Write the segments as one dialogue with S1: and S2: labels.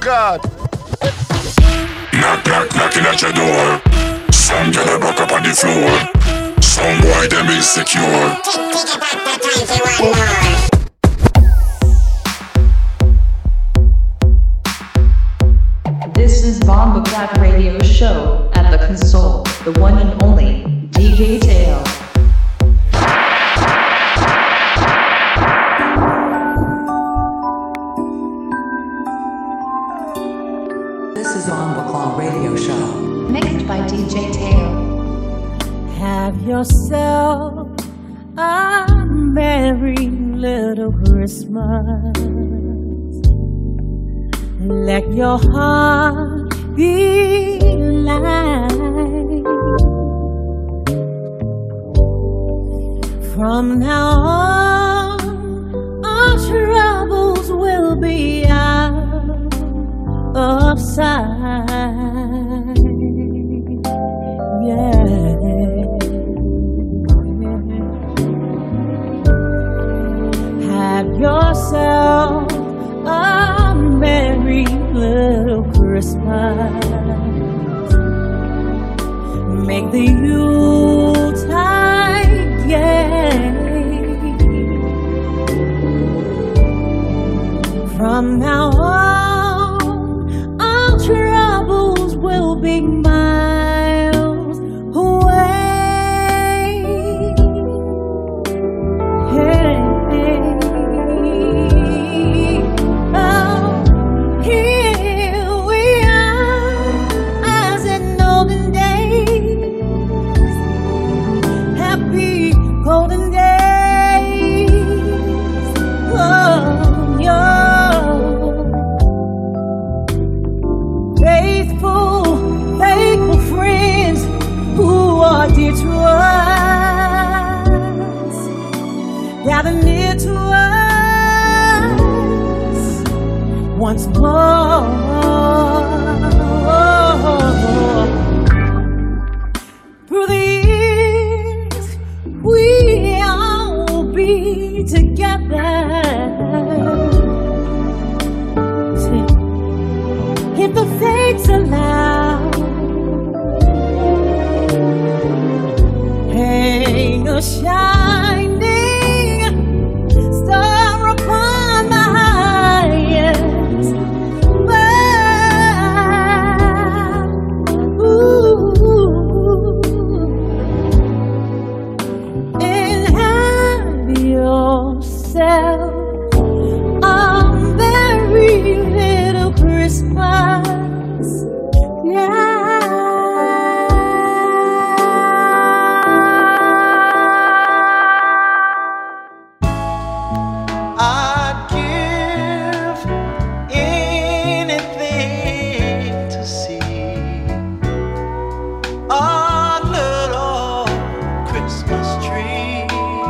S1: God.
S2: Knock, knock, knocking at your door. Some girl a back up on the floor. Some boy them insecure.
S3: This is Bomba Clap Radio Show at the console, the one and only DJ Tail.
S4: This is Bomba Clap Radio Show,
S3: Mixed by DJ Tail.
S5: Have yourself a merry little Christmas. Let your heart be light. From now on, our troubles will be out of sight. Yeah. Have yourself a merry little Christmas. Make the Yuletide gay. From now on, all troubles will be miles away. Hey. Golden days of your faithful, faithful friends who are dear to us, gather near to us once more. Through the we'll be together. If the fates allow, hang a shining star upon the highest bough. Yourself a merry little Christmas, yeah.
S6: I'd give anything to see a little Christmas tree.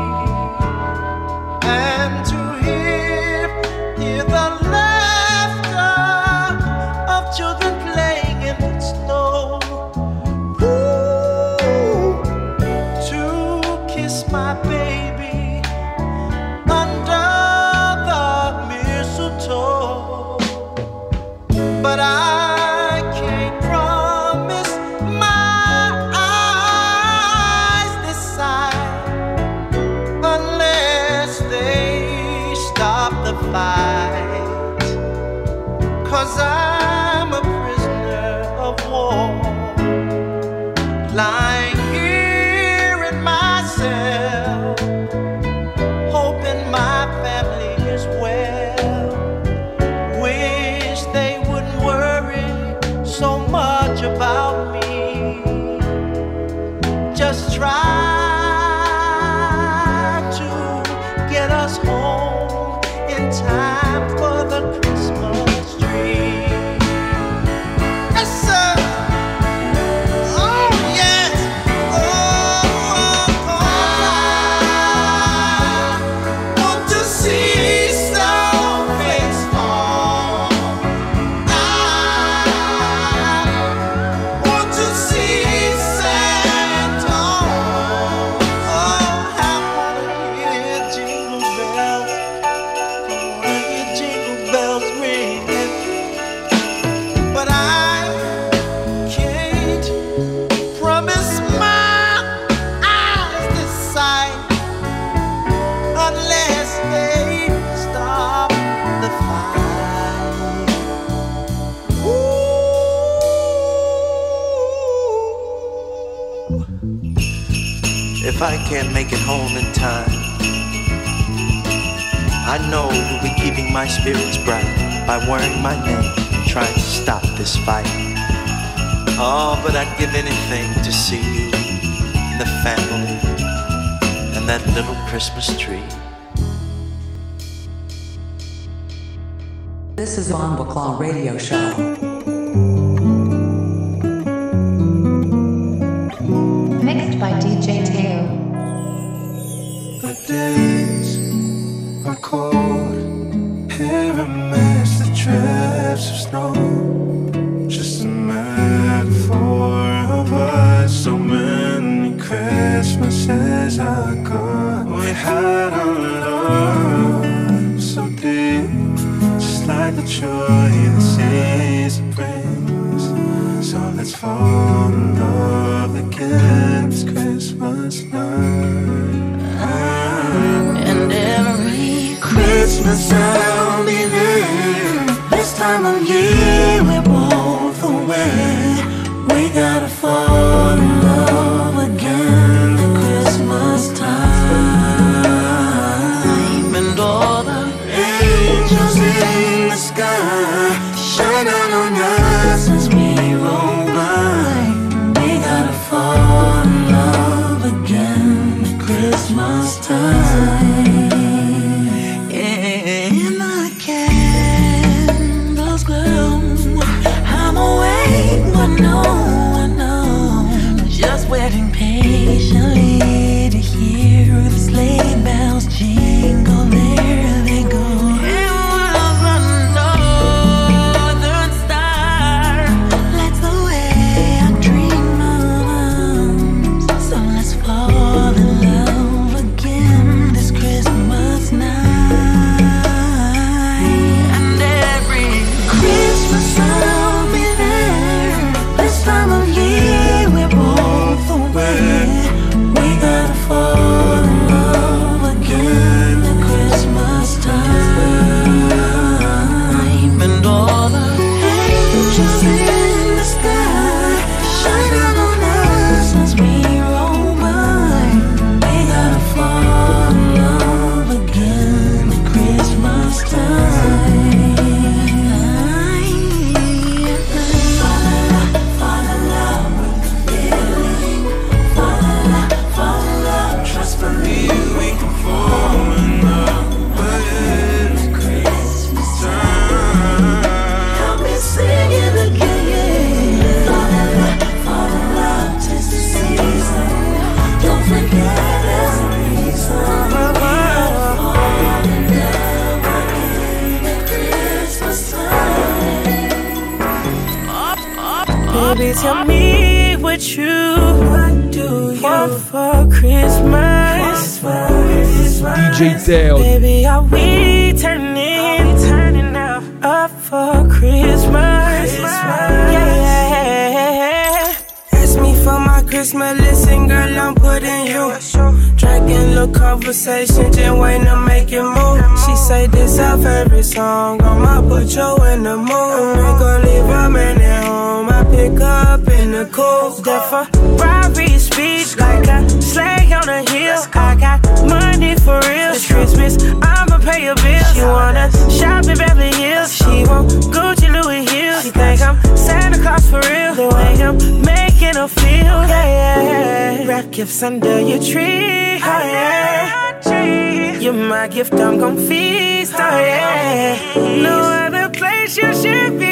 S6: And to hear the laughter of children playing in the snow. if I can't make it home in time, I know you'll be keeping my spirits bright by wearing my name and trying to stop this fight. Oh, but I'd give anything to see you and the family and that little Christmas tree.
S4: This is On Baclaw Radio Show.
S3: Mixed by DJ Teo.
S1: The days are cold, here amidst the drifts of snow. Just a metaphor of us. So many Christmases ago, we had our love so deep, just like the joy the season brings. So let's fall in love again this Christmas night. And every Christmas I'll be there. This time of year we're both away. We gotta fall in love again at Christmas time. And all the angels in the sky shine out on us as we roll by. We gotta fall in love again at Christmas time. And the candles glow. I'm awake, but no one knows. Just waiting patiently to hear the sleigh bells jingle. There they go. And while the northern star lights the way I dream of. So let's fall in love again this Christmas night. And every Christmas I'll be there. This time of year we're both away. We gotta fall in love again at Christmas time. And all the angels in the sky shine out on us as we roll by. We gotta fall in love again at Christmas time. Fall in love with the feeling. Fall in love, trust for me, we can fall in love again at Christmas time. Help me sing it again. Fall in love, 'tis the season. Don't forget there's a reason. We gotta fall in love again at Christmas time.
S7: Baby, tell me what you want for Christmas.
S8: DJ Teo.
S7: Baby, are we turning up for Christmas? Yeah. Ask me for my Christmas list, and girl, I'm putting you. Drinking little conversation, just waiting to make it move. She say this her favorite song, I'ma put you in the mood. We gon' leave a man at home, I pick up in the cool. That Ferrari speed like a sleigh on a hill. I got money for real. It's Christmas, I'ma pay your bills. She wanna shop in Beverly Hills. She want Gucci, Louis Hills. She think I'm Santa Claus for real. The way I'm making her feel, yeah. Wrap gifts under your tree, oh yeah. You're my gift, I'm gon' feast, oh yeah. No other place you should be.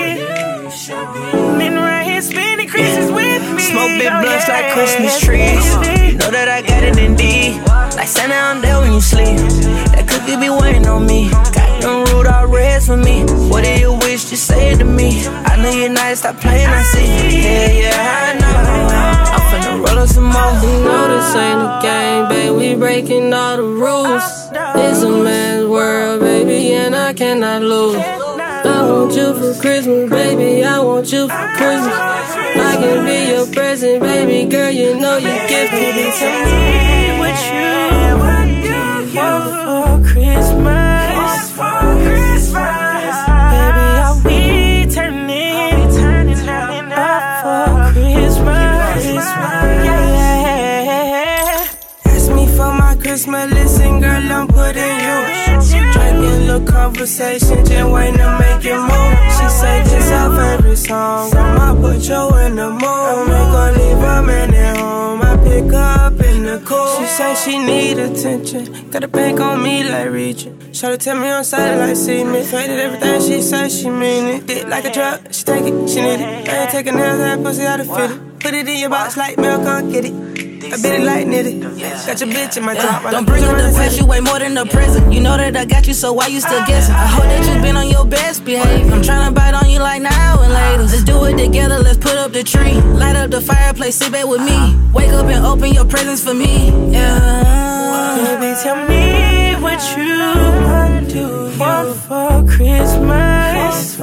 S7: Been right here spending Christmas with me.
S9: Smoke big blunts like Christmas trees. You know that I got it indeed. Like Santa on there when you sleep. That cookie be waiting on me. Got them Rudolph reds for me. What do you wish? Just say it to me. I know you're nice, stop playing, I see. Yeah, I know. I'm finna roll up some more.
S10: You know this ain't a game, babe. We breaking all the rules. It's a man's world, baby, and I cannot lose. I want you for Christmas, baby. I want you for Christmas. I can be your present, baby girl. You know you gifted.
S7: Tell me what you want for Christmas. Baby, are we turning up for Christmas? Yeah. Christmas, listen, girl, I'm putting you. Drinking little conversation, just waiting to make it move. She say this our favorite song, I'ma put you in the mood. I'm gonna leave her man at home, I pick her up in the cool. She say she need attention, got a bank on me like Regent. Shawty tell me on side like see me. Faded everything she say, she mean it. Dick like a drug, she take it, she need it. I ain't taking nails, that pussy out of fit it. Put it in your box like milk, come get it. I bit it like knitted. Got your bitch in my top.
S9: Don't bring up the past, you way more than the present. You know that I got you, so why you still guessing? I hope that you been on your best behavior. I'm tryna bite on you like now and later. Let's do it together, let's put up the tree. Light up the fireplace, sit back with me. Wake up and open your presents for me. Yeah.
S7: Baby, tell me what you want for Christmas.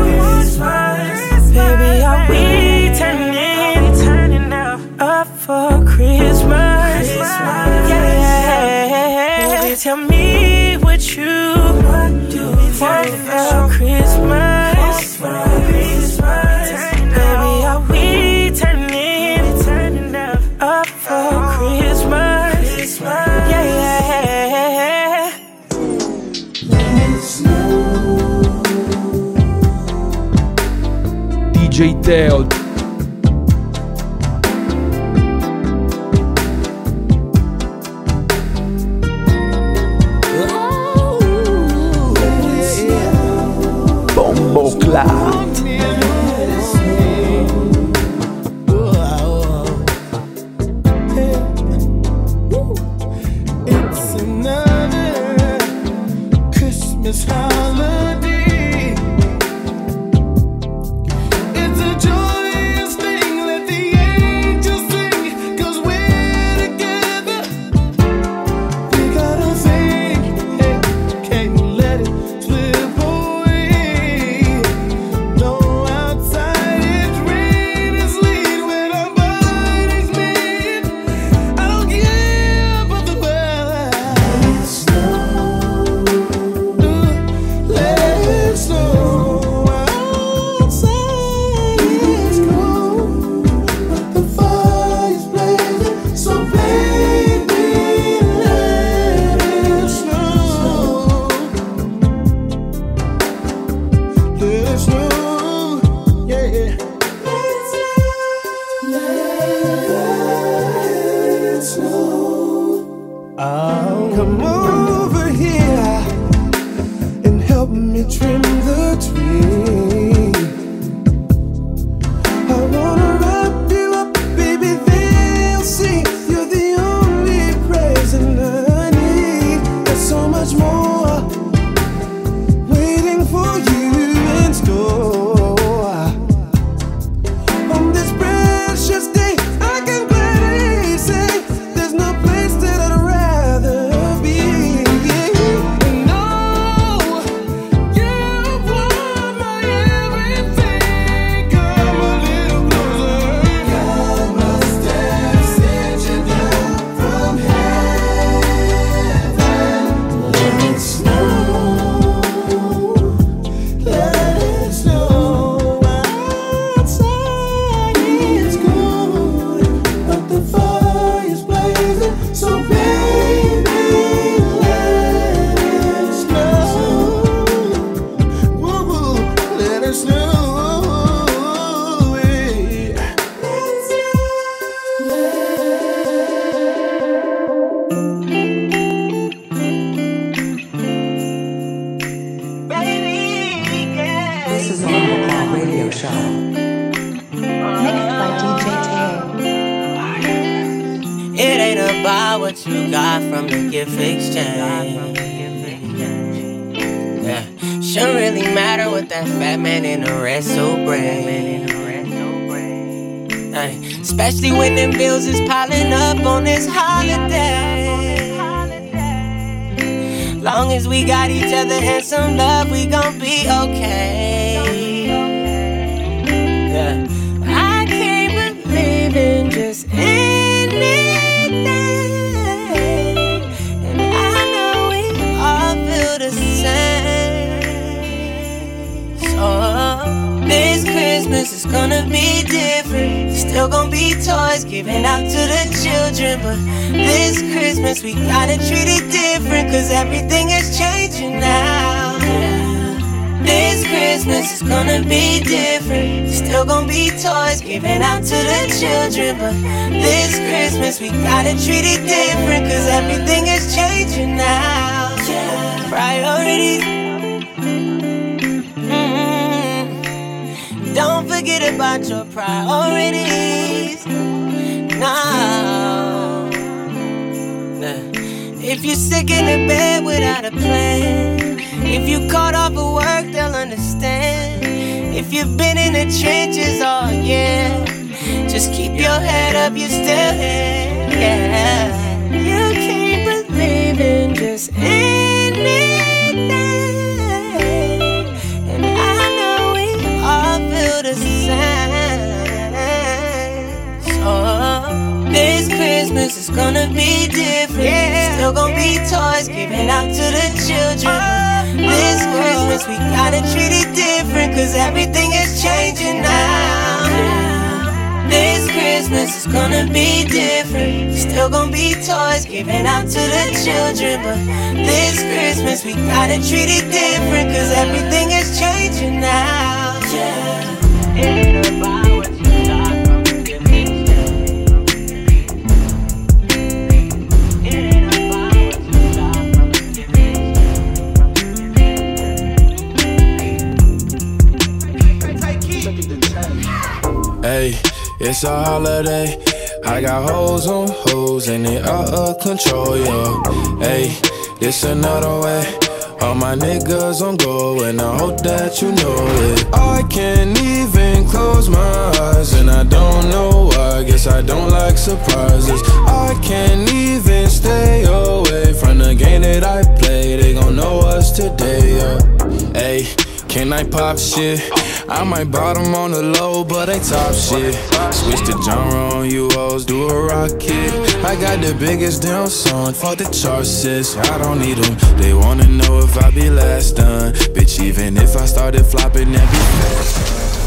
S7: Baby, are we turning up for Christmas? Yeah. Baby, tell me what you want for Christmas. Baby, are we turning up for Christmas? Yeah.
S8: DJ Teo. Bombo Clat.
S1: It's another Christmas holiday. It's a joyous thing, let the angels sing, 'cause we're together. We gotta sing, hey, can't let it slip away. No, outside it's rain and sleet when our bodies meet. I don't care about the weather. Let it snow, let it snow. Outside it's cold, but the fire's blazing. So baby, let it snow. Let it snow, yeah. Let it snow. Come over here and help me trim the tree. I wanna wrap you up, baby, they'll see you're the only present I need. There's so much more waiting for you in store. On this precious day, I can gladly say there's no place that I'd rather be. No, you want my everything. Come a little closer. God must have sent you down from heaven. Let it snow, let it snow. Outside it's cold, but the fire's blazing. So baby, let it snow. Woo, let it snow.
S4: This is on the Cloud Radio Show.
S3: Mixed by DJ Teo.
S9: It ain't about what you got from the gift exchange. Yeah, shouldn't really matter what that fat man in the resto brings. Especially when them bills is piling up on this holiday. Long as we got each other and some love, we gon' be okay. Yeah, I can't believe in just anything, and I know we all feel the same. So this Christmas is gonna be different.
S7: Still gon' be toys given out to the children. But this Christmas we gotta treat it different, cause everything is changing now. This Christmas is gonna be different. Still gon' be toys given out to the children. But this Christmas we gotta treat it different, cause everything is changing now. Priorities. Don't forget about your priorities. No. If you're sick in the bed without a plan, if you caught off of work, they'll understand. If you've been in the trenches all year, just keep your head up, you're still here. Yeah. You can't believe in just anything, and I know we all feel the same. So this Christmas is gonna be different. Still gonna be toys given out to the children. This Christmas we gotta treat it different, cause everything is changing now. This Christmas is gonna be different. Still gonna be toys given out to the children. But this Christmas we gotta treat it different, cause everything is changing now. Yeah. It ain't about what you got from the beginning. It ain't about what you got from the
S11: beginning. Hey, it's a holiday. I got hoes on hoes and they out of control, yo. Hey, this another way. All my niggas on go and I hope that you know it. I can't even close my eyes and I don't know why. Guess I don't like surprises. I can't even stay away from the game that I play. They gon' know us today, yo. Hey, can I pop shit? I might bottom on the low, but they top shit. Switch the genre on you hoes, do a rocket. I got the biggest damn song, fuck the charts, sis. I don't need them, they wanna know if I be last done. Bitch, even if I started flopping, that be fast.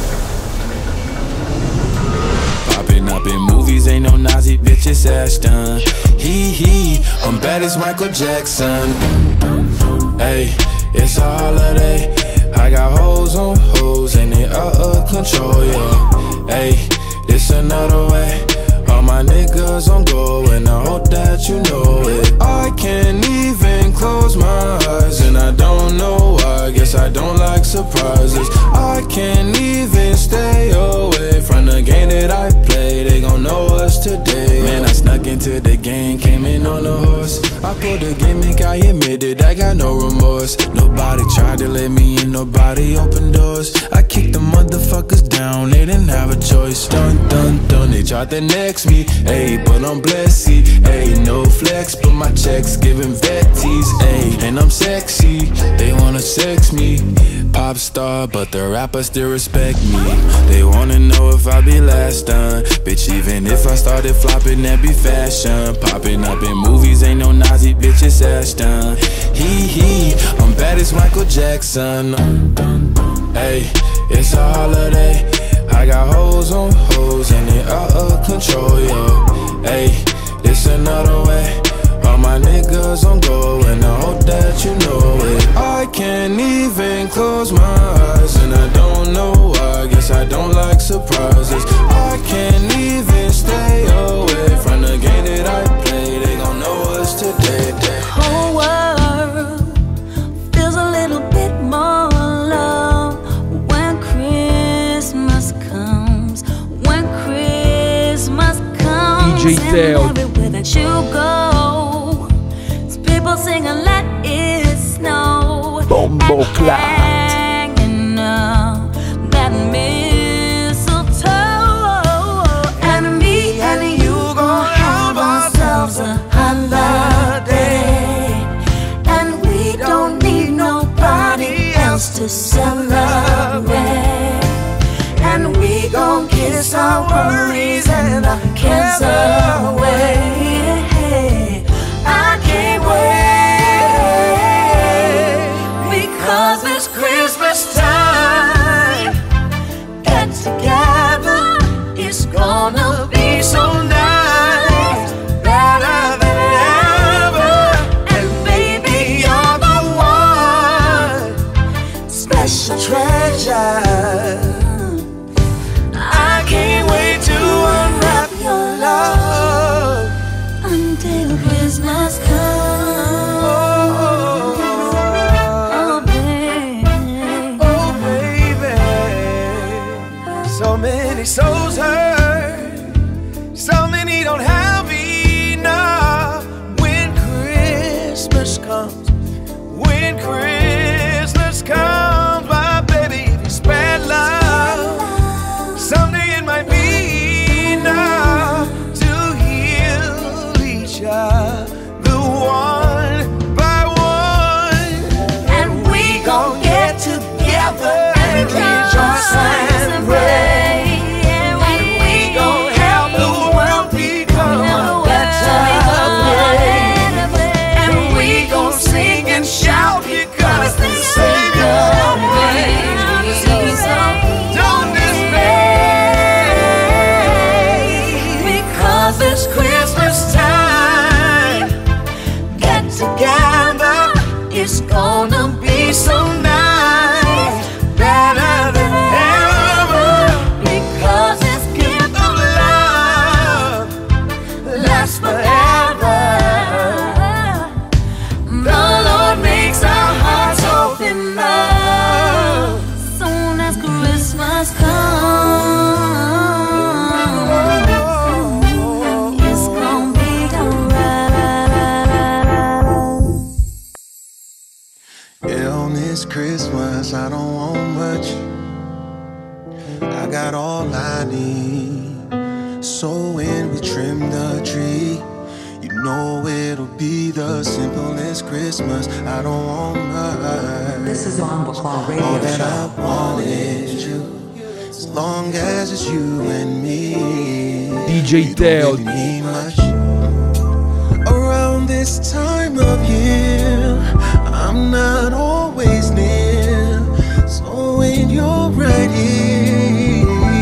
S11: Popping up in movies, ain't no Nazi, bitch, it's Ashton. Hee, I'm bad as Michael Jackson. Hey, it's a holiday. I got hoes on hoes and they out of control, yeah. Hey, it's another way. All my niggas on go and I hope that you know it. I can't even close my eyes and I don't know why. Guess I don't like surprises. I can't even stay away from the game that I play. They gon' know us today. Man, I snuck into the game, came in on a horse. I pulled a gimmick, I admitted I got no remorse. Nobody tried to let me in, nobody opened doors. I kicked the motherfuckers down, they didn't have a choice. Dun, dun, dun, they tried to next me. Ayy, but I'm blessed, ayy, no flex, but my checks giving vetties, ayy, and I'm sexy, they wanna sex me. Pop star, but the rappers still respect me. They wanna know if I be last done. Bitch, even if I started flopping, that be fashion. Popping up in movies, ain't no Nazi, bitch, it's Ashton. Hee, I'm bad as Michael Jackson. Hey, it's a holiday. I got hoes on hoes and they out of control, yo. Hey, it's another way. All my niggas on go and I hope that you know it. I can't even close my eyes and I don't know why. Guess I don't like surprises. I can't even stay away from the game that I play. They gon' know us today.
S12: Whole world feels a little bit more love when Christmas comes. When Christmas comes,
S8: DJ Teo.
S12: and everywhere that you go, people singing "Let It Snow."
S8: Bombo Clat.
S12: Hanging up that mistletoe, and me and you gon' have ourselves a holiday, and we don't need nobody else to celebrate, and we gon' kiss our worries and our cares away. I can't wait, because it's Christmas time. Get together, it's gonna
S13: all I need. So when we trim the tree, you know it'll be the simplest Christmas. I don't want much.
S4: This is on Bacall Radio
S13: All that
S4: Show.
S13: I want is you. As long as it's you and me.
S8: DJ Teo.
S13: Really need much. Around this time of year, I'm not always near. So when you're right here,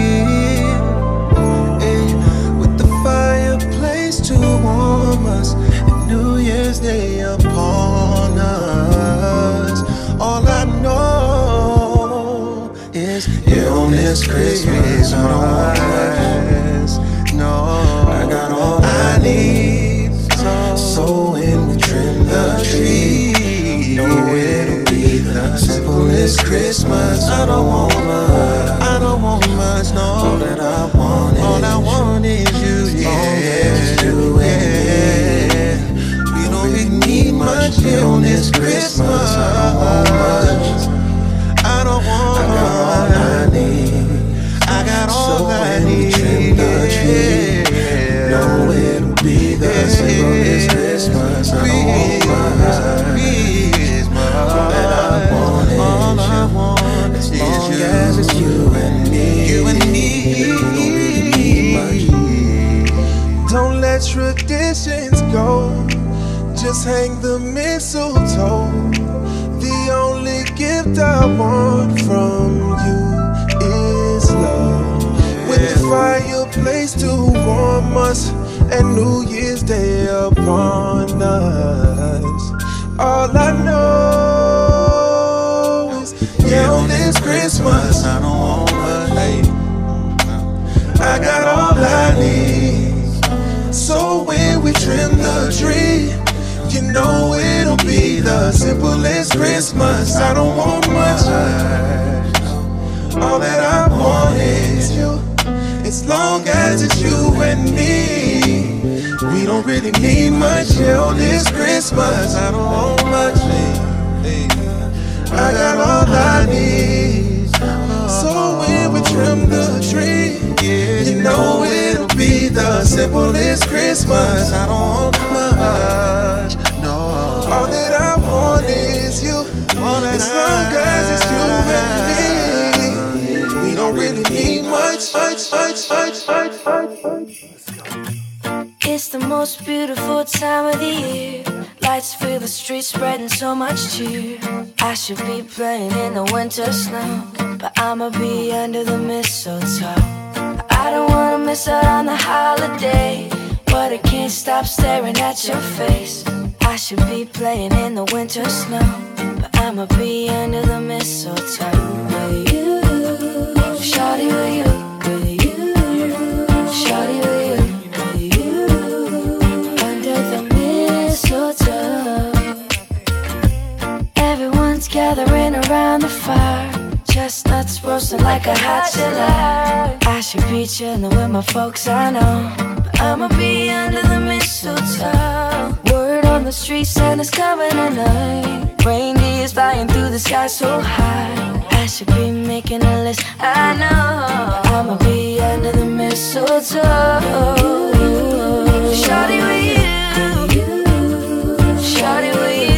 S13: with the fireplace to warm us, and New Year's Day upon us, all I know is on this Christmas, no, I got all I need. So when we trim the tree, know it'll be the simplest Christmas. I don't want much, no. All that I want is you, yeah. We don't really need much here on this Christmas. I don't want much. I got all I need. I got all I need. Trim the tree, know it'll be the simplest Christmas. I don't want much. All that I want is you. As long as it's you and me. You and me. Don't let traditions go. Just hang the mistletoe. The only gift I want from you is love. With the fireplace to warm us and New Year's Day upon us, all I know is on this Christmas I don't want much. I got all I need. So when we trim the tree, you know it'll be the simplest Christmas. I don't want much. All that I want is you. As long as it's you and me, we don't really need much here on this Christmas. I don't want much. I got all I need. So when we trim the tree, you know it'll be the simplest Christmas. I don't want much, no. All that I want is you. As long as it's you and me, we don't really need much.
S14: It's the most beautiful time of the year. Lights fill the streets, spreading so much cheer. I should be playing in the winter snow, but I'ma be under the mistletoe. I don't wanna miss out on the holiday, but I can't stop staring at your face. I should be playing in the winter snow, but I'ma be under the mistletoe. With you, shawty, with you, shawty, with you. Everyone's gathering around the fire, chestnuts roasting like a hot July. I should be chilling with my folks, I know, but I'ma be under the mistletoe. Word on the street, Santa's coming tonight. Reindeer's flying through the sky so high. I should be making a list, I know, but I'ma be under the mistletoe. Shawty with you, shawty with you.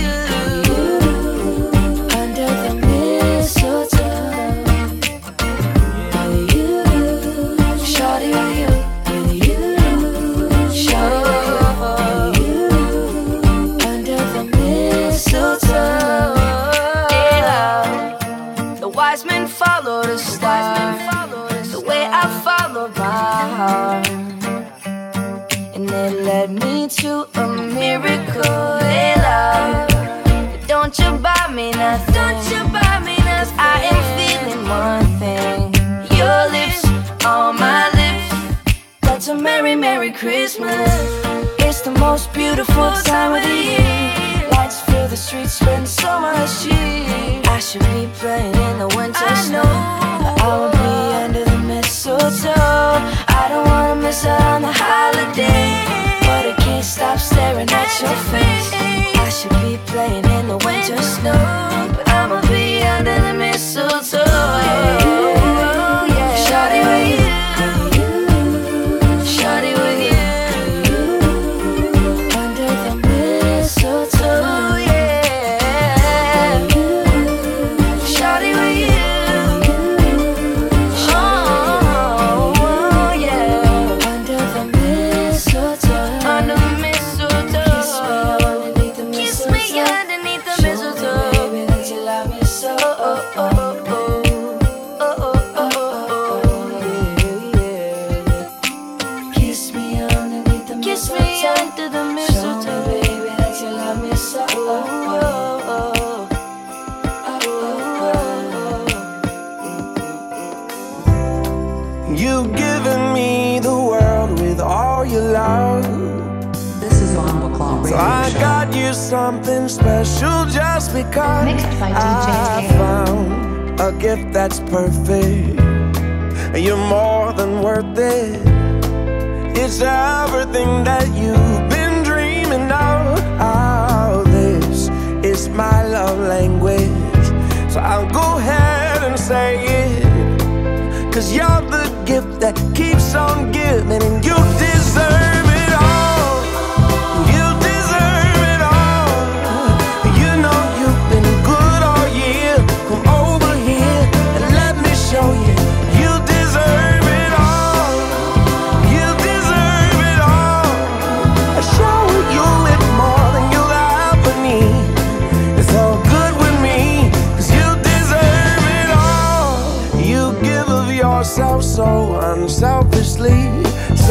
S14: Follow the star, the way I followed my heart, and it led me to a miracle. Hey love, don't you buy me nothing, don't you buy me nothing. I am feeling one thing, your lips on my lips. That's a merry, merry Christmas. It's the most beautiful time of the year. Lights fill the streets, spend so much cheer. I should be playing in the winter snow, but I will be under the mistletoe. I don't wanna miss out on the holiday, but I can't stop staring at your face. I should be playing in the winter snow, but I'ma be under the mistletoe. Shawty with you.
S4: McClung
S7: So
S4: Radio
S7: I
S4: Show.
S7: got you something special just because
S3: Mixed by DJ
S7: I
S3: Taylor.
S7: found a gift that's perfect. You're more than worth it. It's everything that you've been dreaming of. Oh, this is my love language. So I'll go ahead and say it. 'Cause you're the gift that keeps on giving, and you deserve it all. You deserve it all. You know you've been good all year. Come over here and let me show you. You deserve it all. You deserve it all. I show you it more than you'll ever need. It's all good with me, 'cause you deserve it all. You give of yourself so unselfishly. So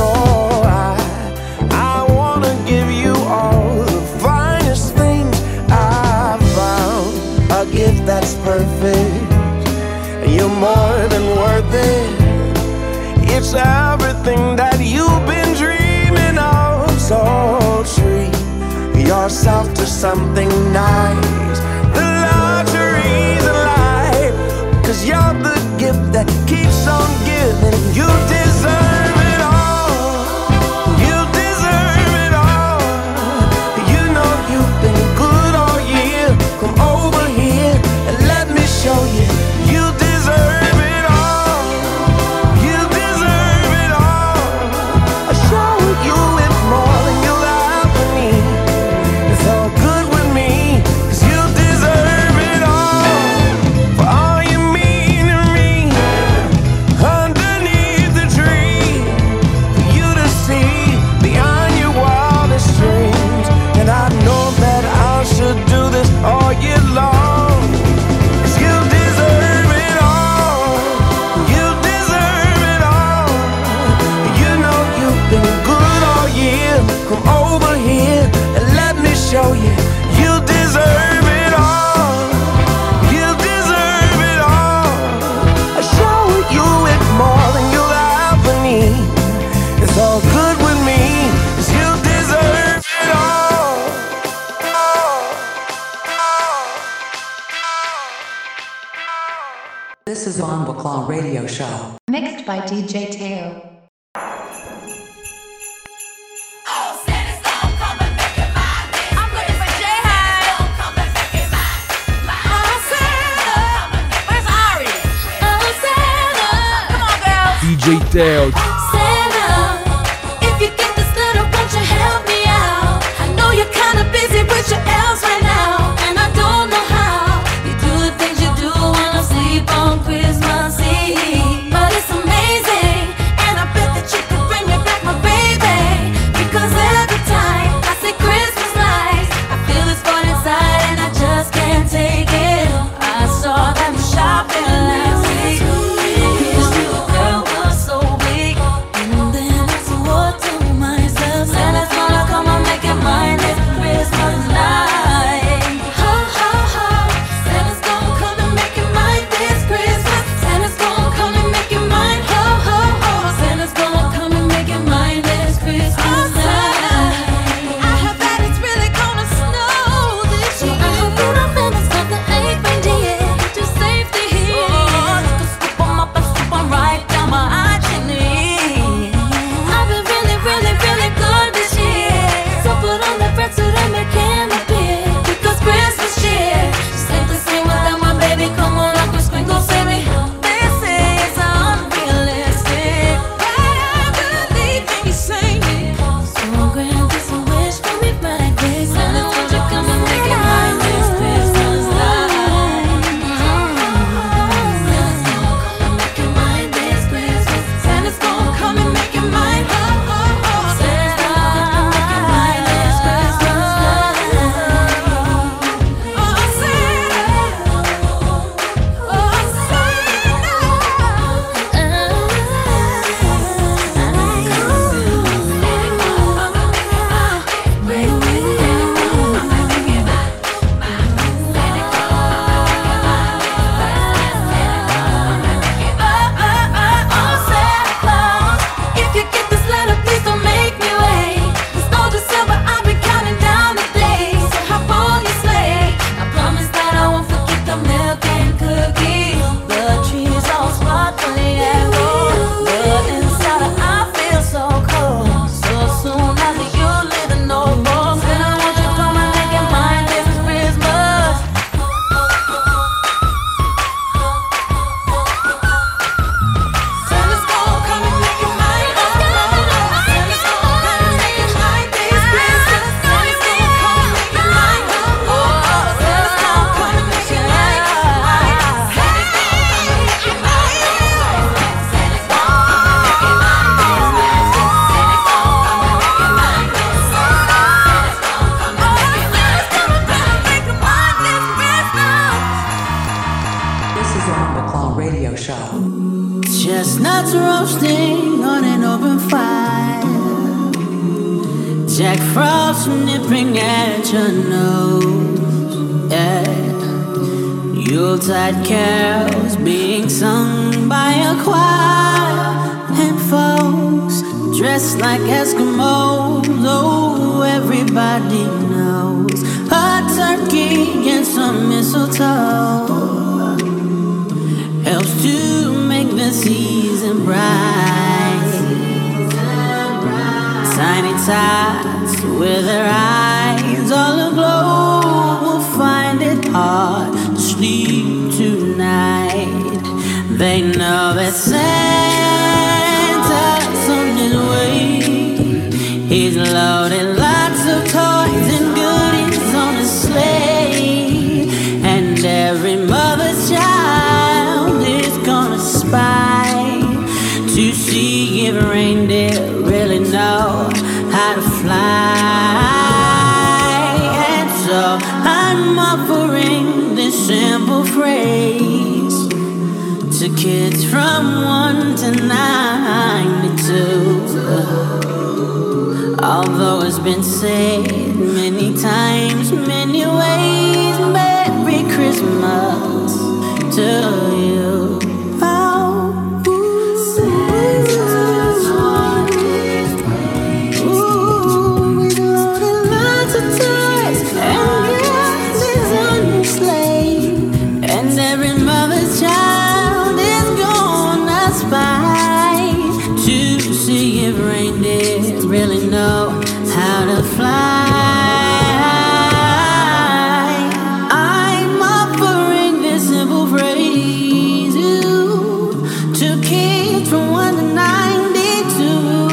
S7: I wanna give you all the finest things I've found. A gift that's perfect. You're more than worth it. It's everything that you've been dreaming of. So treat yourself to something nice. The luxuries of life. 'Cause you're the gift that keeps on giving. You deserve it all. You deserve it all. You know you've been good all year. Come over here and let me show you. You deserve it all. You deserve it all. I show you it more than you'll ever need. It's all good with me, 'cause you deserve it all. For all you mean to me, underneath the tree, for you to see beyond your wildest dreams. And I know that I should do this all year long, 'cause you deserve it all. You deserve it all. You know you've been good all year. Come over here and let me show you. You deserve it all. You deserve it all. I show you it more than you'll ever need. It's all good with me, 'cause you deserve it all.
S4: This is on McClung Radio Show.
S3: Mixed by DJ Teo.
S8: DJ Teo.
S15: Santa, if you get this letter, won't you help me out? I know you're kinda busy with your elves right now, and I don't know how you do the things you do when I sleep on Christmas Eve. But it's amazing, and I bet that you could bring me back my baby. Because every time I say Christmas lights, I feel this void inside, and I just can't take it. I saw them shopping last week. This little girl was so weak.
S16: Jack Frost nipping at your nose, yeah. Yuletide carols being sung by a choir, and folks dressed like Eskimos. Oh, everybody knows a turkey and some mistletoe helps to make the season bright. Tiny tots with their eyes all aglow will find it hard to sleep tonight. They know that Santa's on his way. He's loaded lots of toys and goodies on his sleigh, and every mother's child is gonna spy to see if reindeer really know how to fly. And so I'm offering this simple phrase to kids from 1 to 92. Although it's been said many times, many ways, Merry Christmas to you. Really know how to fly. I'm offering this simple phrase to kids from 1 to 92.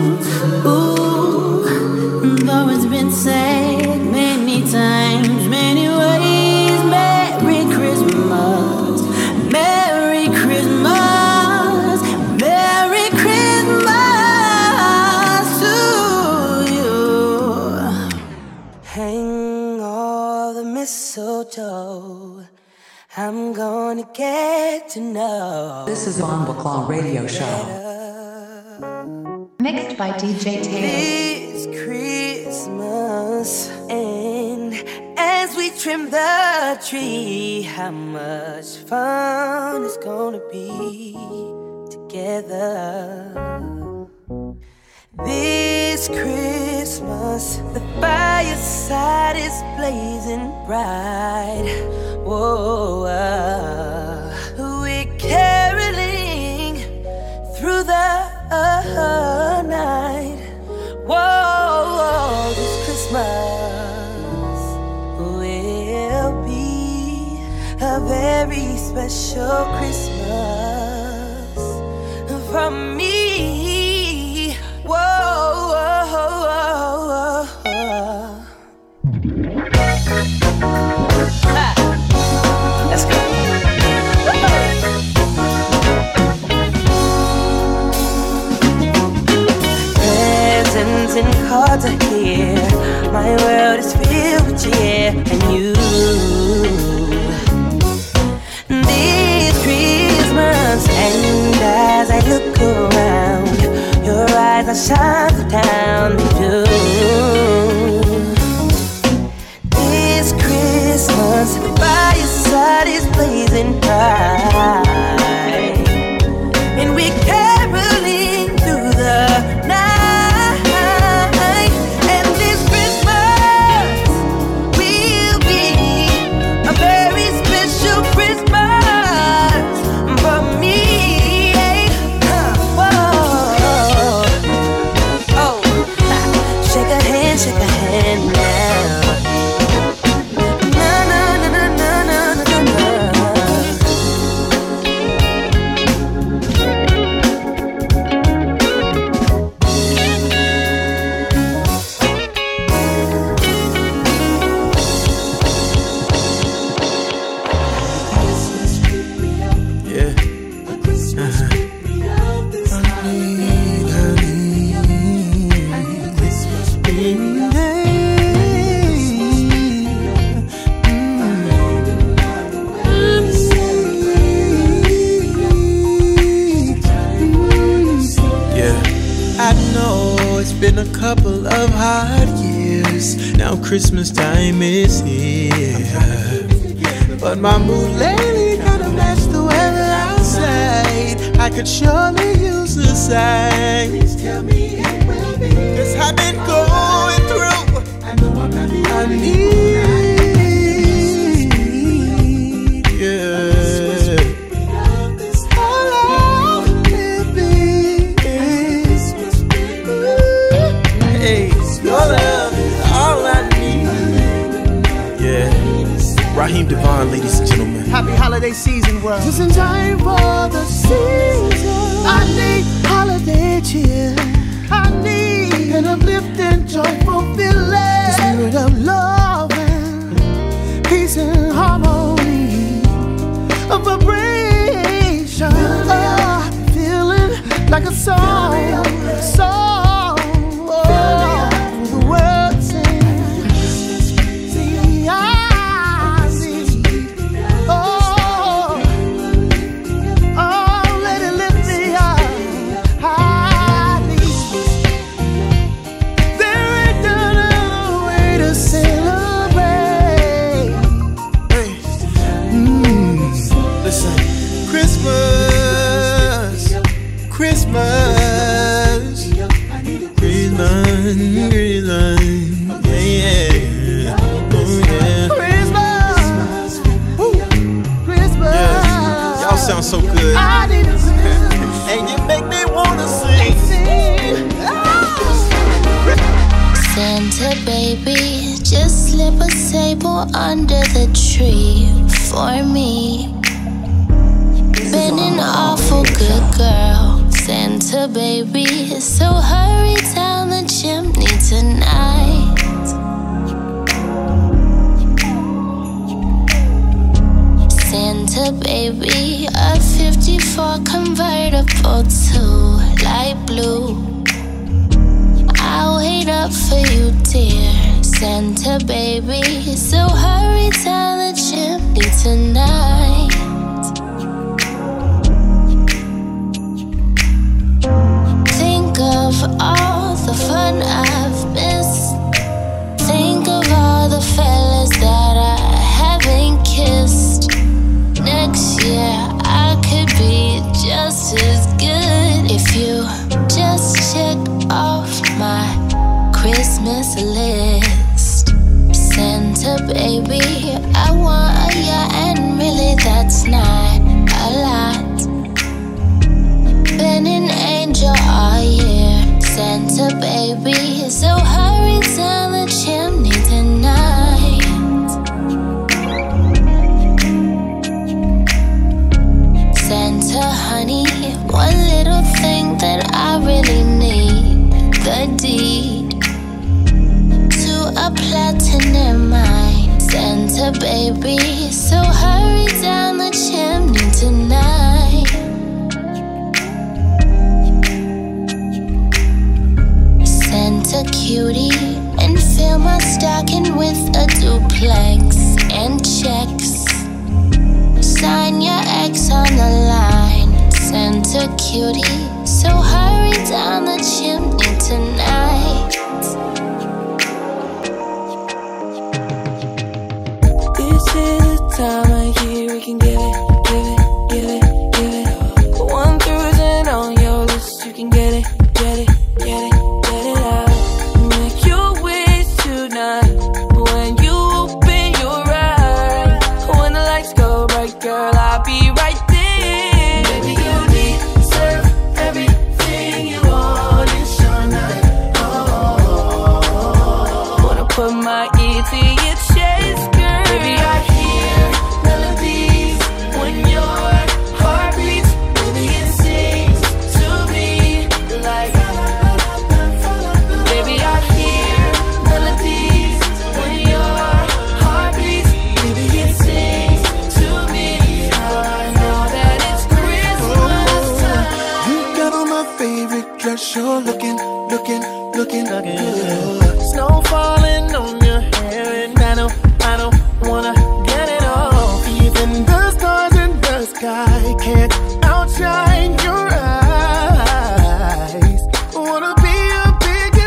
S16: Ooh, though it's been said many times, many ways, Merry Christmas, Merry Christmas, Merry Christmas.
S7: Mistletoe, I'm gonna get to know.
S4: This is Von Baclaw Radio Show.
S3: Mixed by DJ Taylor.
S7: This Christmas, and as we trim the tree, how much fun it's gonna be together. This Christmas, the fireside is blazing bright. Whoa, we're caroling through the night. Whoa, this Christmas will be a very special Christmas for me. Let's go. Presents and cards are here. My world is filled with cheer and you. This Christmas, and as I look around, your eyes are shining down the This Christmas, the fireside is blazing bright, and we're caroling through the night. And this Christmas will be a very special Christmas for me. Whoa. Oh.
S17: it's been a couple of hard years. Now Christmas time is here, but my mood lately kinda matched the weather outside. I could surely use a sign. Please tell me it will be, 'cause I've been going through. I know I'm not the only Raheem Devon, ladies and gentlemen.
S18: Happy holiday season, world.
S12: Just in time for the season. I need holiday cheer. I need an uplifting, joyful feeling. The spirit of love and peace and harmony. A vibration. Feeling like a song. For the world sings. See,
S17: sound so good. And you make me wanna sing.
S19: Santa baby, just slip a sable under the tree for me. Been an awful good girl, Santa baby, so hurry down the chimney tonight. Santa baby, a 54 convertible to light blue. I'll wait up for you, dear Santa baby, so hurry down the chimney tonight. Think of all the fun I've missed. Think of all the fellas that I haven't kissed. Next year I could be just as good if you just check off my Christmas list. Santa baby, I want a yacht, and really that's not a lot. Been an angel all year, Santa baby, so hurry down the chimney tonight. Santa honey, one little thing that I really need, the deed to a platinum mine. Santa baby, so hurry down the chimney tonight. Santa cutie, and fill my stocking with a duplex and checks. Sign your ex on the line, Santa cutie, so hurry down the chimney tonight.
S10: This is the time of year we can give it, give it, give it, give it. 1,000 on your list, you can get it, get it, get it, get it out. Make your wish tonight when you open your eyes. When the lights go bright, girl, I'll be right there. Baby, you deserve everything you want. It's your night. Oh, wanna put my ear to your chest, girl. Baby, I hear melodies when your heart beats. Baby, it sings to me like. Baby, I hear melodies when your heart beats. Baby, it sings to me. I know that it's Christmas time.
S13: You got on my favorite dress, you're looking good.
S10: Snow falling on your hair, and I don't wanna get it off.
S13: Even the stars in the sky can't outshine your eyes. Wanna be a big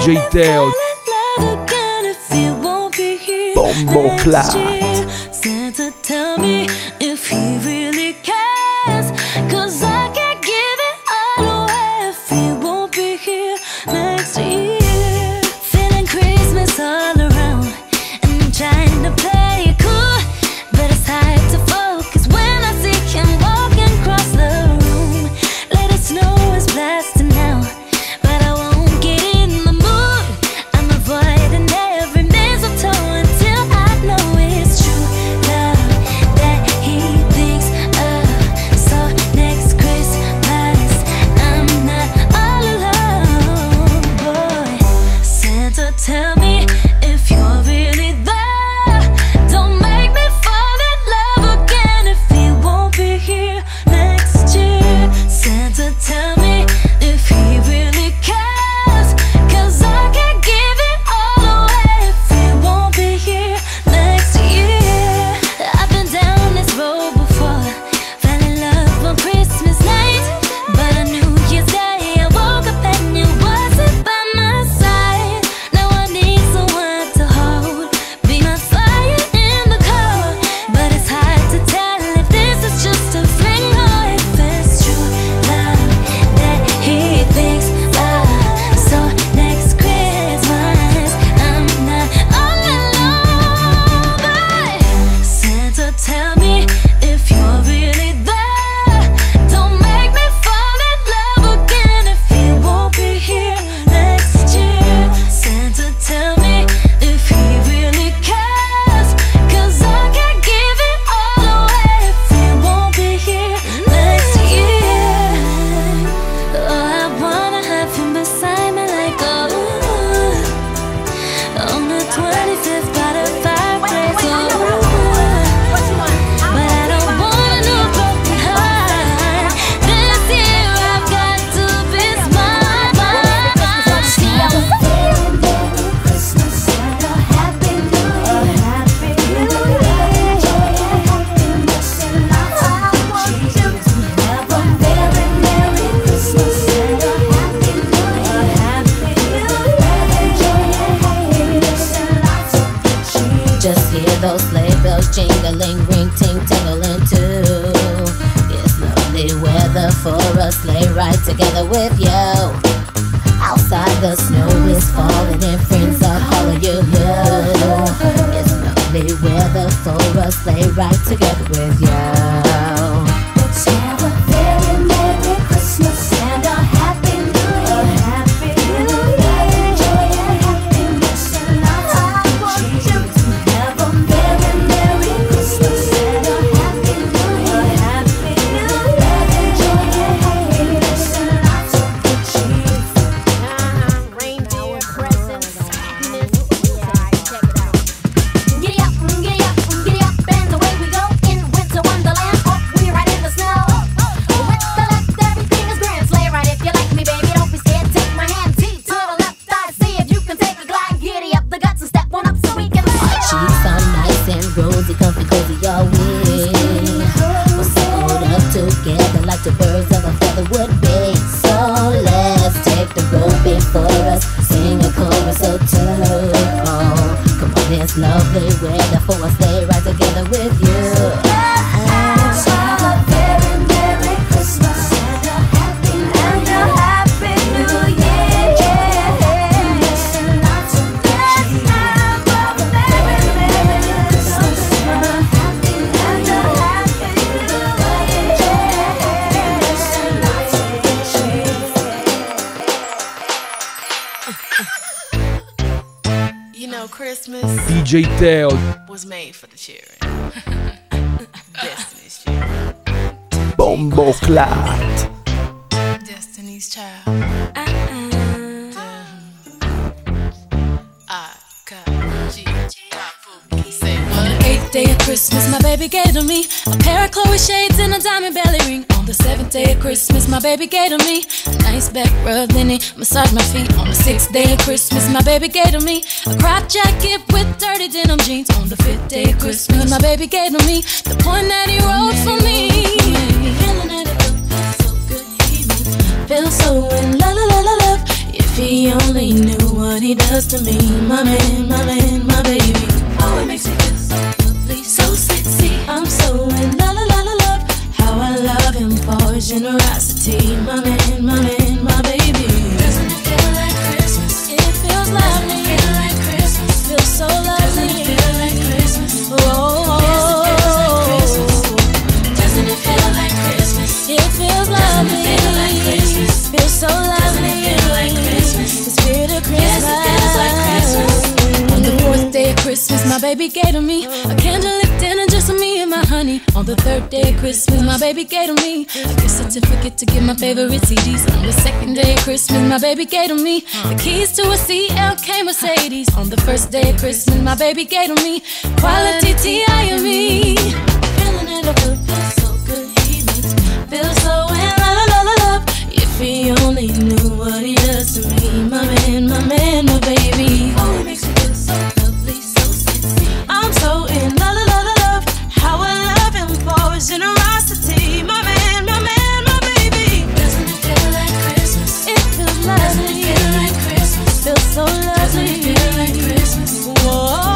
S8: DJ Teo. Bombo Clat.
S15: Santa, tell me if he really cares, 'cause I can't give it all away if he won't be here next year. Feeling Christmas all around, and I'm trying to play it cool, but it's hard to focus when I see him walking across the room. Let it snow is blasting now, but I won't get in the mood. I'm avoiding every mistletoe until I know it's true love that he thinks of. So next Christmas I'm not all alone, boy. Santa, tell me if you're really there. Don't make me fall in love again if he won't be here next year. Santa, tell me if he really cares, 'cause I can't give it all away if he won't be here next year. I've been down this road before, fell in love on Christmas night, but on New Year's Day I woke up and you wasn't by my side. Now I need someone to hold, be my fire in the cold, but it's hard to tell if this is just a fling or if it's true love that he thinks of. So next Christmas I'm not all alone, but Santa, tell me if you're really there. Don't make me fall in love again if he won't be here next year. Santa, tell me if he really cares, 'cause I can't give it all away if he won't be here next year. Oh, I wanna have him beside me like on the 25th by the fireplace. But I don't want no broken heart. This year I've got to be smart. Christmas, Santa, Happy New Year, Happy New Year, joy and happiness and lots of cheer. Have a very Merry Christmas, Santa, Happy New Year, Happy New Year, joy and happiness and lots of cheer. Just hear those sleigh bells jingling, ring ting tingling too. It's lovely weather for a sleigh ride together with you. Outside the snow is falling and friends are calling you. It's lovely weather for a sleigh ride together with you. Let's have a very Merry Christmas and a Happy New Year, Happy New Year, joy and happiness and lots of cheer. Have a very Merry Christmas and a Happy New Year, Happy New Year, joy and happiness and lots of cheer. Reindeer presents, sadness. Check it out. Giddy up, and away we go in winter wonderland. Oh, we're right in the snow. With the left, everything is grand. Sleigh ride if you like me, baby. Don't be scared. Take my hand, T to the left. I see if you can take a glide. Giddy up the guts and step on up so we can. Cheeks are nice and rosy, comfy, cozy, all we. We're sewed up together like the birds of a feather would be. So let's take the road before us, sing a chorus or two. Oh, come on, it's lovely weather for us, stay right together with you. Let's have a very Merry Christmas and a Happy New Year. Happiness and lots of cheer. Have a very Merry Christmas and a Happy New Year. Happiness and lots of cheer.
S18: You know, Christmas
S8: DJ Teo.
S18: was made for the children. Destiny's children.
S8: Bombo Clat.
S18: Destiny's Child. Say
S15: On the 8th day of Christmas, my baby gave to me a pair of Chloe shades and a diamond belly ring. On the 7th day of Christmas, my baby gave to me a nice back rub, then he massaged my feet. On the 6th day of Christmas, my baby gave to me a crop jacket with dirty denim jeans. On the 5th day of Christmas, my baby gave to me the poem that he wrote for me. Feeling that it feels so good, he feels so in love. If If he only knew what he does to me, my man, my man, my baby. Oh, it makes me feel so lovely, so sexy. I'm so in love, love. How I love him for his generosity, my man, my man, my baby. Doesn't it feel like Christmas? It feels lovely. Doesn't it feel like Christmas? Feels so lovely. Doesn't it feel like Christmas? Oh, doesn't it feel like Christmas? It feels lovely. Doesn't it feel like Christmas? Feels so lovely. Doesn't it feel like Christmas? The spirit of Christmas. Yes, it feels like Christmas. On the fourth day of Christmas, my baby gave to me a candlelit dinner just for me and my honey. On the third day of Christmas, my baby gave to me a gift certificate to get my favorite CDs. On the second day of Christmas, my baby gave to me the keys to a CLK Mercedes. On the first day of Christmas, my baby gave to me quality T.I.M.E. Feeling it up, feels so good, he makes me feel so in love. If he only knew what he does to me, my man, my baby. Oh, it makes me feel so lovely, so sexy. I'm so in love. How I love him for his generosity, my man, my baby. Doesn't it feel like Christmas? It feels lovely. Doesn't it feel like Christmas? Feels so lovely. Doesn't it feel like Christmas? Whoa.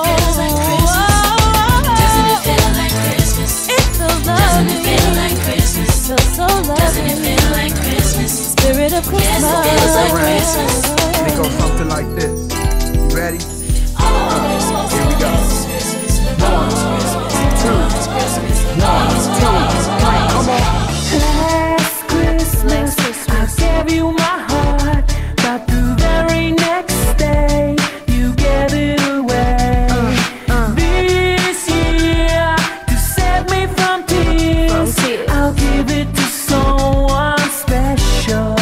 S15: Doesn't it feel like Christmas? It feels lovely. Doesn't it feel like Christmas? Feels so lovely. Doesn't it feel like Christmas? Spirit of Christmas. Yes, it feels like Christmas.
S20: And it goes something like this. You ready? Here we go. 1, 2, 1, 2, 3. Come on.
S12: Last Christmas, I gave you my heart, but the very next day you gave it away. This year, to save me from tears, I'll give it to someone special.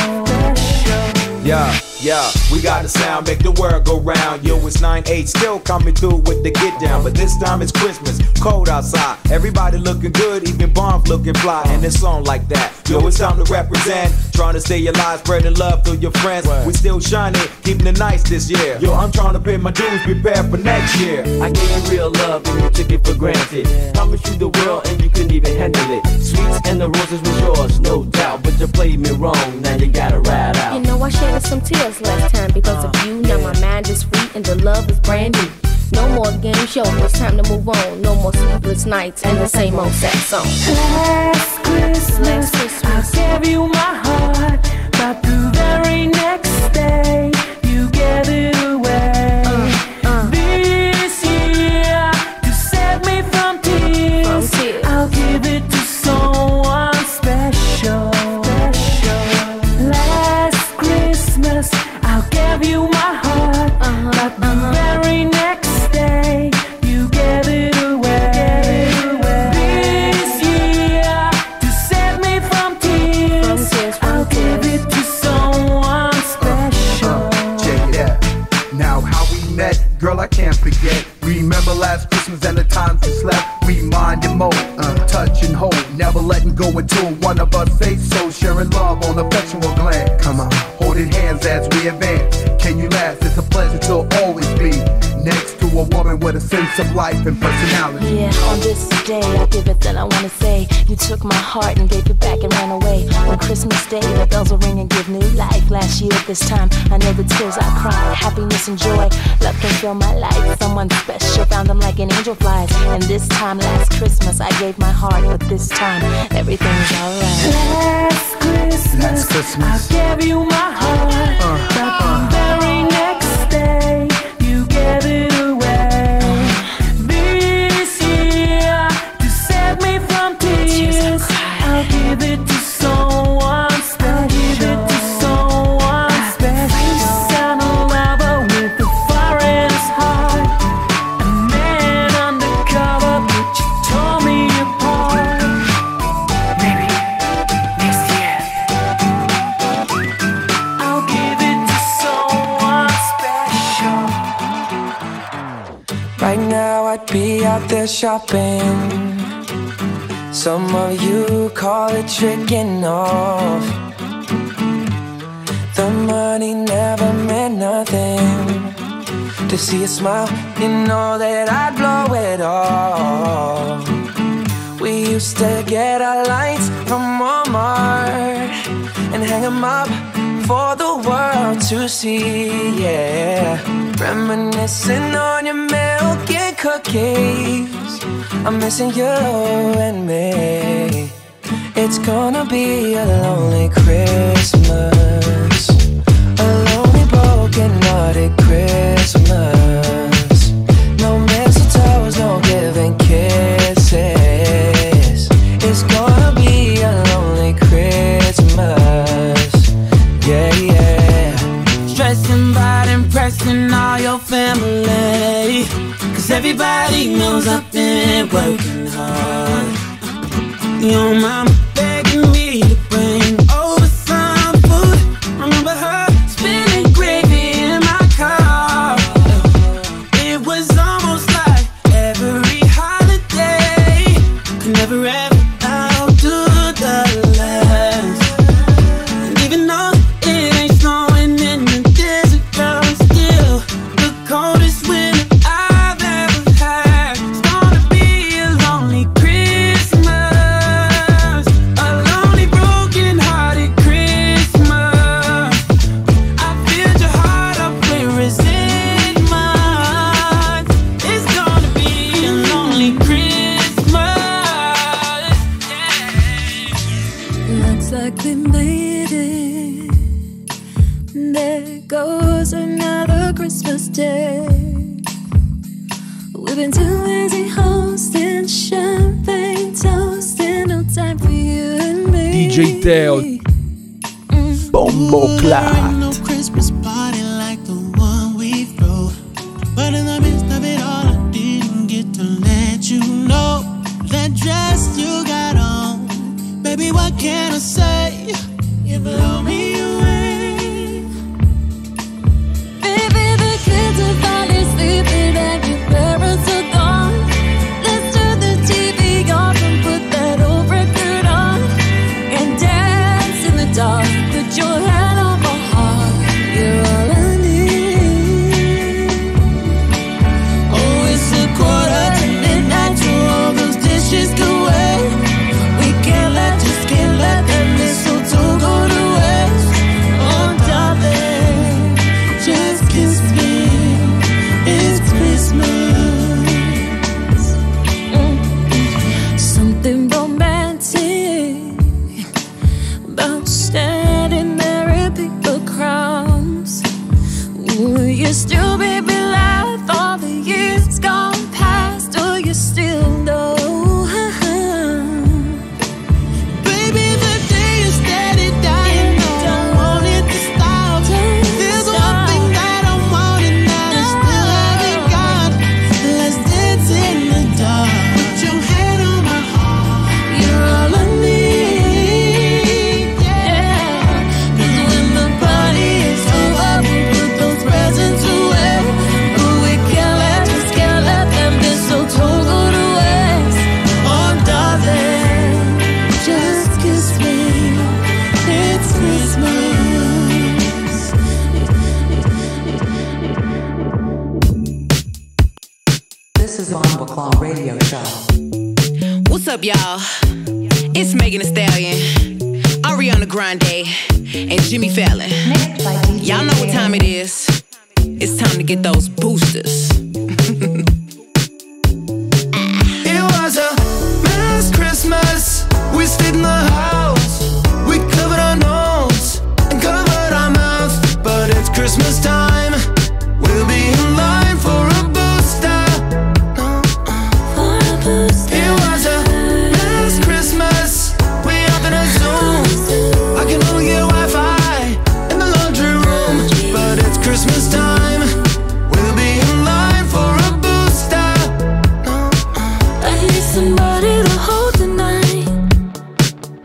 S21: Yeah, we got a sound, make the world go round. Yo, it's 9-8, still coming through with the get down. But this time it's Christmas, cold outside. Everybody looking good, even bombs looking fly. And it's on like that. Yo, it's time to represent. Trying to stay alive, spreading love through your friends. We still shining, keeping it nice this year. Yo, I'm trying to pay my dues, prepare for next year.
S22: I gave you real love and you took it for granted. Promised you the world and you couldn't even handle it. Sweets and the roses was yours, no doubt. But you played me wrong, now you gotta ride out.
S23: You know I shed some tears last time because of you. Now my mind is free and the love is brand new. No more game show, it's time to move on. No more sleepless nights and the same old sad song.
S12: Last Christmas, I gave you my heart, but the very next day you gave it away. This year, to save me from tears, I'll give it to someone special. Last Christmas, I'll give you my heart, but the very next day you gave it away. This year, to save me from tears, I'll give it to someone special.
S20: Check it out. Now how we met, girl, I can't forget. Remember last Christmas and the times we slept. We mind and mold, touch and hold, never letting go until one of us say so. Sharing love on affectional glance. Come on, holding hands as we advance. Can you last? It's a pleasure to always be next to a woman with a sense of life and personality.
S23: Yeah, on this day I give it that I wanna say. You took my heart and gave it back and ran away. On Christmas Day the bells will ring and give new life. Last year at this time I know the tears I cried. Happiness and joy, love can fill my life. Someone special, found them like an angel flies. And this time last Christmas I gave my heart, but this time everything's alright.
S12: Last Christmas, I gave you my heart, but the very next day you gave it away. This year, to save me from tears, I'll give it to someone special. Give it to someone special. Found a lover with a foreigner's heart, a man undercover, but you tore me apart. Maybe next year I'll give it to someone special.
S7: Right now I'd be out there shopping. Some of you call it tricking off. The money never meant nothing. To see a smile, you know that I'd blow it off. We used to get our lights from Walmart and hang them up for the world to see, yeah. Reminiscing on your milk and cookies. I'm missing you and me. It's gonna be a lonely Christmas, a lonely broken-hearted Christmas. No mistletoes, no giving kisses. It's gonna be a lonely Christmas, yeah, yeah.
S16: Stressing about impressing all your family, 'cause everybody knows I've been working hard. Your mama begging me to bring over some food. Remember her spinning gravy in my car. It was almost like every holiday could never ever outdo the last. And even though it ain't snowing in the desert, girl, it's still the coldest winter I've ever had. It's gonna be a lonely Christmas, a lonely broken-hearted Christmas. I filled your heart up with resentment. It's gonna be a lonely Christmas.
S15: Looks like we made it. There goes another Christmas day. We've been too busy hosting champagne, toasting, no time for you and me.
S8: DJ Teo, Bombo Clat.
S17: No Christmas party like the one we threw, but in the midst of it all, I didn't get to let you know that dress you got on, baby. What can I say? You blow me away.
S15: Baby, the kids are finally sleeping and your parents are gone. Let's turn the TV off and put that old record on and dance in the dark. Put your hand on my heart, you're all I need.
S17: Oh, it's a quarter to midnight, throw all those dishes away. We can't let that mistletoe go to waste. Oh, darling, just kiss me. It's Christmas.
S15: Something romantic about standing there in paper crowns. Will you still, baby, laugh all the years gone past? Do you still know?
S17: Baby, the day is steady dying, I don't want it to stop. There's one thing that I want and that I still haven't got. Let's dance in the dark. Put your hand on my heart.
S15: You're all I need, yeah. 'Cause when the party is over, we put those presents away. But we can't let that mistletoe go to waste.
S17: Oh, darling, just kiss me. It's Christmas.
S4: This is on Baclaw Radio Show.
S2: What's up, y'all? It's Megan Thee Stallion, Ariana Grande, and Jimmy Fallon. Y'all know what time it is. It's time to get those boosters.
S13: It was a last Christmas. We stayed in the house. We covered our nose and covered our mouth. But it's Christmas time. We'll be in line for a booster. It was a last Christmas. We up in a Zoom. I can only get Wi-Fi in the laundry room. But it's Christmas time. We'll be in line for a booster.
S15: I need somebody to hold tonight.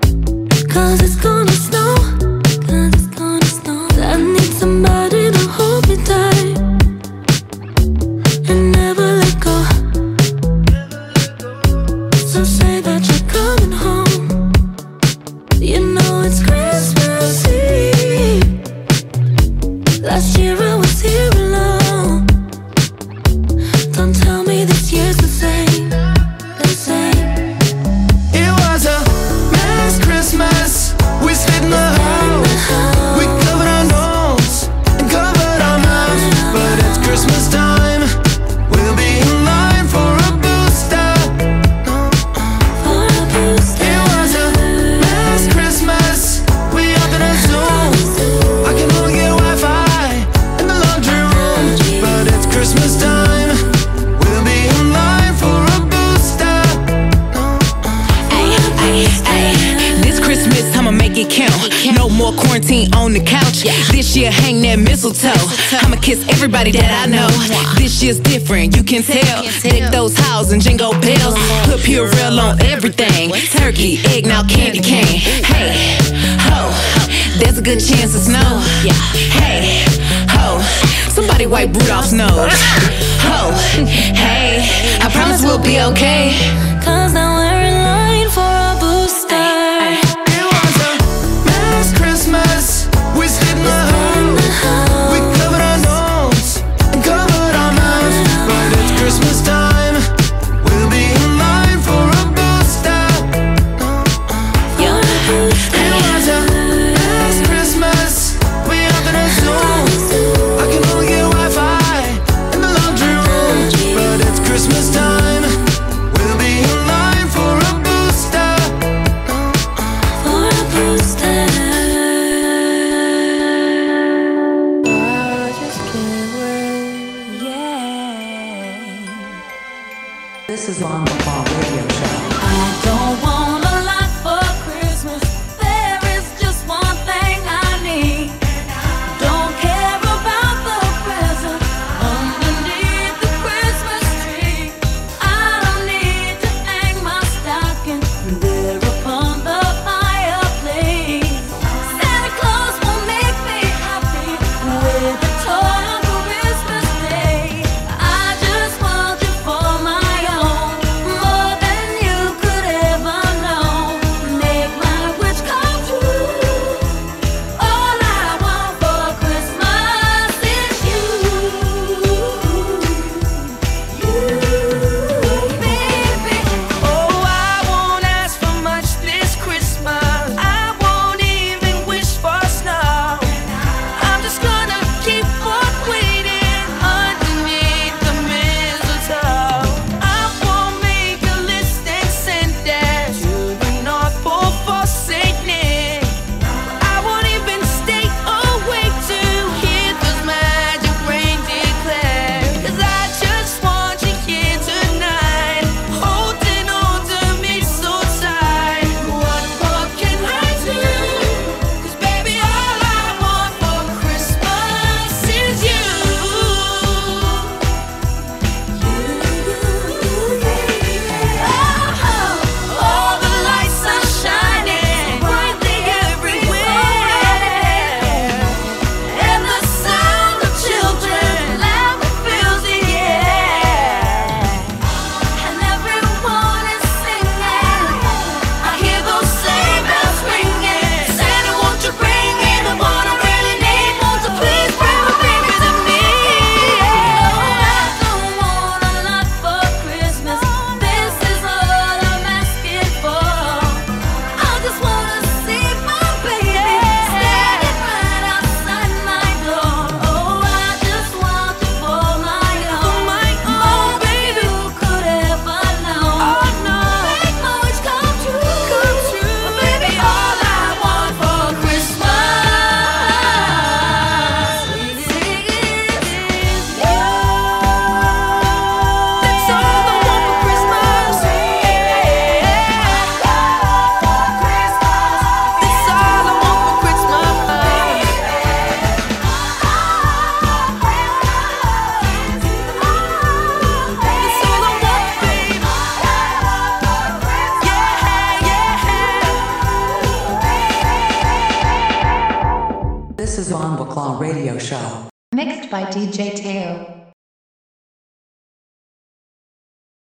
S2: quarantine on the couch. This year, hang that mistletoe. I'ma kiss everybody that I know. This year's different, you can tell. Deck those houses and jingle bells. Put Purell on everything. Turkey, egg, now candy cane. Hey, ho, there's a good chance of snow. Hey, ho, somebody wipe Rudolph's nose. Ho, hey, I promise we'll be okay.
S15: 'Cause now we're in line for a booster.
S7: It was a last Christmas. We stayed in the home. We covered our nose and covered our mouths. But it's Christmas time. We'll be in line for a booster. It was a last Christmas. We up in a Zoom. I can only get Wi-Fi in the laundry room. But it's Christmas time. We'll be in line for a booster.
S15: For a booster.
S23: I just can't wait. Yeah.
S4: This is On the Call Radio Show.
S15: I don't want a lot for Christmas. There is just one thing I need. Don't care about the present underneath the Christmas tree. I don't need to hang my stocking there upon the fireplace. Santa Claus will make me happy with a toy on Christmas Day. I just want you for my own, more than you could ever know. Make my wish come true. All I want for Christmas is you, baby.
S7: Oh, I won't ask for much this Christmas. I won't even wish for snow. I'm just gonna keep on waiting underneath the mistletoe. I won't make a list and send that to the North Pole for Saint Nick. I won't even stay awake to hear those magic rain declare. 'Cause I just want you here tonight, holding on to me so tight. What more can I do? 'Cause baby, all I want for Christmas is you.
S15: All the lights are shining brightly everywhere, and the sound of children laughing fills the air, and everyone is singing. I hear those sleigh bells ringing. Santa, won't you bring me the one I really need? Won't you please bring my baby to me? Oh, I don't want a lot for Christmas. This is all I'm asking for. I just wanna see my baby standing right outside my door. Oh, I just want you for my own, more than you could ever know. Oh no, make my wish come true, baby. All I want for Christmas is you.
S7: That's all I want for Christmas. That's all I want for Christmas. That's all I want, baby.
S4: This is On the Call Radio Show.
S3: Mixed by DJ Teo.